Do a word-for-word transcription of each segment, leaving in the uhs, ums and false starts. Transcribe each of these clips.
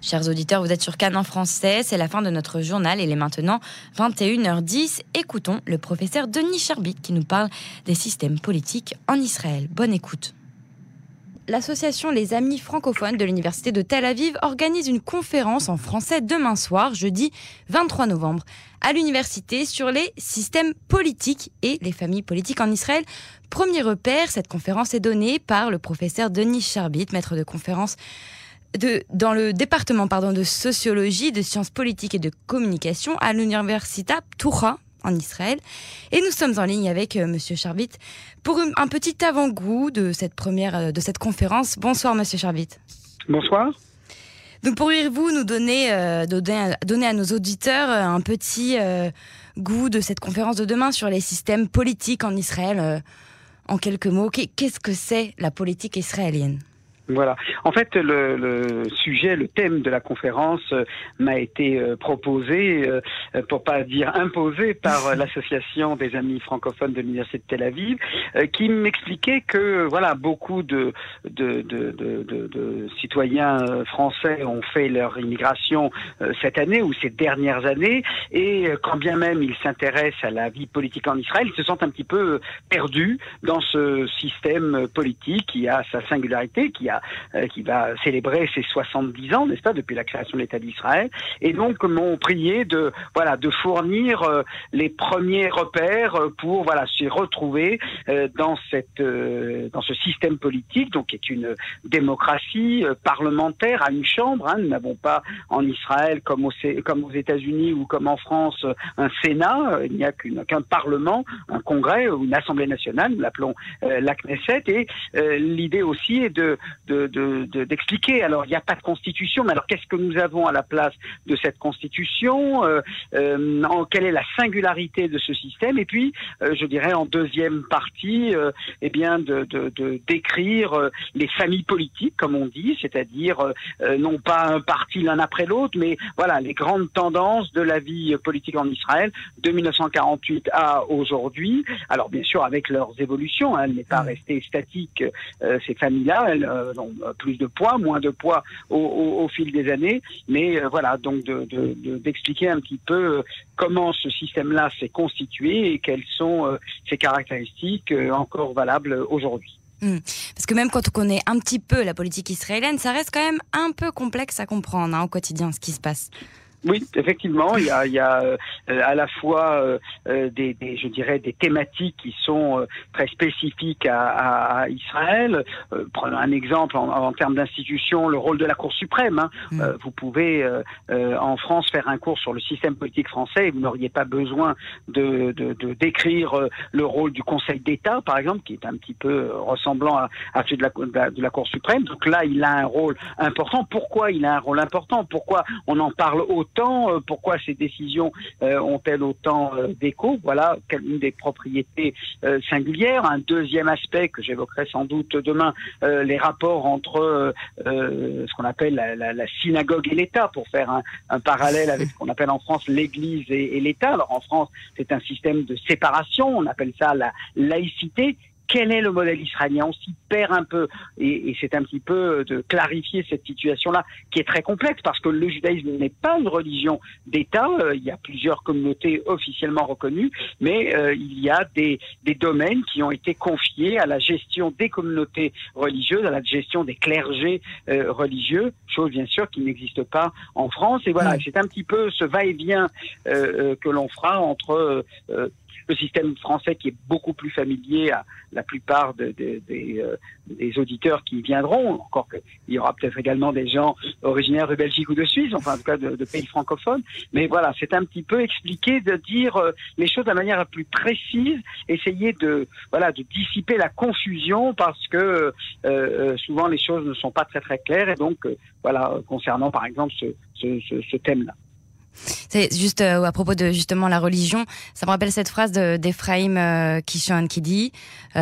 Chers auditeurs, vous êtes sur Cannes en français, c'est la fin de notre journal, il est maintenant vingt et une heures dix. Écoutons le professeur Denis Charbit qui nous parle des systèmes politiques en Israël. Bonne écoute. L'association Les Amis francophones de l'Université de Tel Aviv organise une conférence en français demain soir, jeudi vingt-trois novembre, à l'université sur les systèmes politiques et les familles politiques en Israël. Premier repère, cette conférence est donnée par le professeur Denis Charbit, maître de conférence De, dans le département pardon, de sociologie, de sciences politiques et de communication à l'Université Ptoucha en Israël. Et nous sommes en ligne avec euh, Monsieur Charbit pour un, un petit avant-goût de cette première, euh, de cette conférence. Bonsoir Monsieur Charbit. Bonsoir. Donc pourriez-vous nous donner, euh, donner, donner à nos auditeurs euh, un petit euh, goût de cette conférence de demain sur les systèmes politiques en Israël euh, en quelques mots? Qu'est-ce que c'est la politique israélienne? Voilà. En fait, le, le sujet, le thème de la conférence euh, m'a été euh, proposé, euh, pour pas dire imposé, par euh, l'association des amis francophones de l'université de Tel Aviv, euh, qui m'expliquait que voilà, beaucoup de, de, de, de, de, de citoyens français ont fait leur immigration euh, cette année ou ces dernières années, et euh, quand bien même ils s'intéressent à la vie politique en Israël, ils se sentent un petit peu perdus dans ce système politique qui a sa singularité, qui a Euh, qui va célébrer ses soixante-dix ans, n'est-ce pas, depuis la création de l'État d'Israël, et donc m'ont prié de voilà de fournir euh, les premiers repères pour voilà se retrouver euh, dans cette euh, dans ce système politique, donc qui est une démocratie euh, parlementaire à une chambre. Hein. Nous n'avons pas en Israël comme, au, comme aux États-Unis ou comme en France un Sénat. Il n'y a qu'une, qu'un Parlement, un Congrès ou une Assemblée nationale. Nous l'appelons euh, la Knesset. Et euh, l'idée aussi est de De, de, de, d'expliquer. Alors, il n'y a pas de constitution, mais alors qu'est-ce que nous avons à la place de cette constitution, euh, euh, en, quelle est la singularité de ce système, et puis, euh, je dirais en deuxième partie, euh, eh bien, de, de, de décrire euh, les familles politiques, comme on dit, c'est-à-dire euh, non pas un parti l'un après l'autre, mais voilà, les grandes tendances de la vie politique en Israël de mille neuf cent quarante-huit à aujourd'hui. Alors, bien sûr, avec leurs évolutions, hein, elle n'est pas restée statique, euh, ces familles-là, elles euh, ont plus de poids, moins de poids au, au, au fil des années, mais euh, voilà, donc de, de, de, d'expliquer un petit peu euh, comment ce système-là s'est constitué et quelles sont euh, ses caractéristiques euh, encore valables aujourd'hui. Mmh. Parce que même quand on connaît un petit peu la politique israélienne, ça reste quand même un peu complexe à comprendre hein, au quotidien, ce qui se passe. Oui, effectivement, il y a, il y a euh, à la fois euh, des, des, je dirais, des thématiques qui sont euh, très spécifiques à, à, à Israël. Euh, prenons un exemple en, en termes d'institution, le rôle de la Cour suprême. Hein. Mm. Euh, vous pouvez euh, euh, en France faire un cours sur le système politique français et vous n'auriez pas besoin de, de, de décrire euh, le rôle du Conseil d'État, par exemple, qui est un petit peu ressemblant à, à celui de la, de, la, de la Cour suprême. Donc là, il a un rôle important. Pourquoi il a un rôle important? Pourquoi on en parle autant? Pourquoi ces décisions euh, ont-elles autant euh, d'écho? Voilà une des propriétés euh, singulières. Un deuxième aspect que j'évoquerai sans doute demain, euh, les rapports entre euh, euh, ce qu'on appelle la, la, la synagogue et l'État, pour faire un, un parallèle avec ce qu'on appelle en France l'Église et, et l'État. Alors en France, c'est un système de séparation, on appelle ça la laïcité. Quel est le modèle israélien? On s'y perd un peu, et, et c'est un petit peu de clarifier cette situation-là, qui est très complexe, parce que le judaïsme n'est pas une religion d'État. Euh, il y a plusieurs communautés officiellement reconnues, mais euh, il y a des, des domaines qui ont été confiés à la gestion des communautés religieuses, à la gestion des clergés euh, religieux, chose bien sûr qui n'existe pas en France. Et voilà, mmh. c'est un petit peu ce va-et-vient euh, euh, que l'on fera entre euh, le système français qui est beaucoup plus familier à la plupart de, de, de, euh, des auditeurs qui viendront, encore qu'il y aura peut-être également des gens originaires de Belgique ou de Suisse, enfin en tout cas de, de pays francophones, mais voilà, c'est un petit peu expliquer, de dire euh, les choses de la manière la plus précise, essayer de, voilà, de dissiper la confusion, parce que euh, souvent les choses ne sont pas très très claires, et donc euh, voilà, concernant par exemple ce, ce, ce, ce thème-là. C'est juste euh, à propos de justement la religion, ça me rappelle cette phrase de, d'Ephraim euh, Kishon qui dit euh,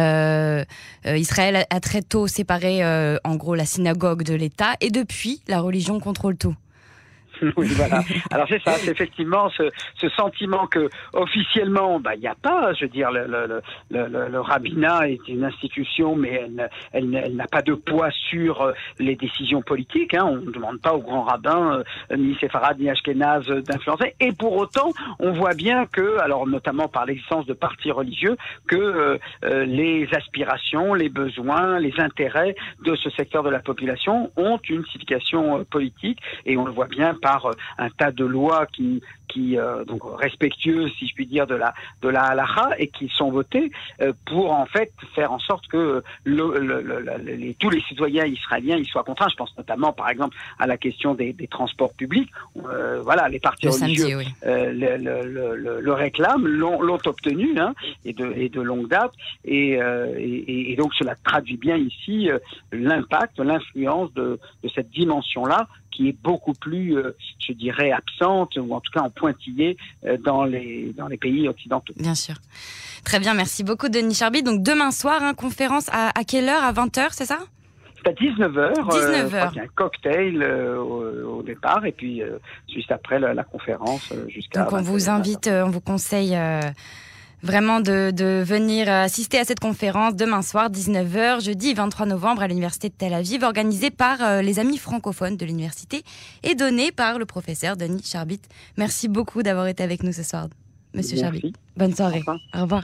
euh, Israël a, a très tôt séparé euh, en gros la synagogue de l'État, et depuis la religion contrôle tout. Oui, voilà. Alors c'est ça, c'est effectivement ce, ce sentiment que officiellement, bah il n'y a pas. Je veux dire, le, le, le, le, le rabbinat est une institution, mais elle, elle, elle n'a pas de poids sur les décisions politiques. Hein. On ne demande pas aux grands rabbins, euh, ni séfarades ni ashkénazes, d'influencer. Et pour autant, on voit bien que, alors notamment par l'existence de partis religieux, que euh, euh, les aspirations, les besoins, les intérêts de ce secteur de la population ont une signification euh, politique, et on le voit bien par euh, un tas de lois qui, qui euh, donc respectueuses, si je puis dire, de la de la halakha, et qui sont votées euh, pour en fait faire en sorte que le, le, le, le, les, tous les citoyens israéliens ils soient contraints. Je pense notamment, par exemple, à la question des, des transports publics. Euh, voilà, les partis le religieux samedi, oui. euh, le, le, le, le réclament, l'ont, l'ont obtenu, hein, et de et de longue date. Et, euh, et, et donc cela traduit bien ici euh, l'impact, l'influence de, de cette dimension-là, qui est beaucoup plus, euh, je dirais, absente, ou en tout cas en pointillé euh, dans les dans les pays occidentaux. Bien sûr. Très bien, merci beaucoup Denis Charbit. Donc demain soir, hein, conférence à, à quelle heure? À vingt heures, c'est ça? C'est à dix-neuf heures. dix-neuf heures. Euh, il y a un cocktail euh, au, au départ, et puis euh, juste après la, la conférence euh, jusqu'à... Donc on vous invite, euh, on vous conseille... Euh Vraiment de, de venir assister à cette conférence demain soir, dix-neuf heures, jeudi vingt-trois novembre, à l'Université de Tel Aviv, organisée par euh, les amis francophones de l'université et donnée par le professeur Denis Charbit. Merci beaucoup d'avoir été avec nous ce soir, Monsieur Merci. Charbit. Bonne soirée. Au revoir. Au revoir.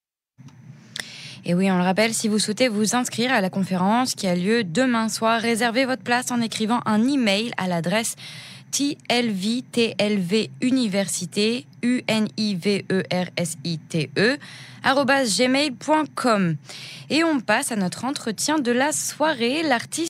Et oui, on le rappelle, si vous souhaitez vous inscrire à la conférence qui a lieu demain soir, réservez votre place en écrivant un email à l'adresse T L V T L V Université, U N I V E R S I T E, arobase gmail point com. Et on passe à notre entretien de la soirée. L'artiste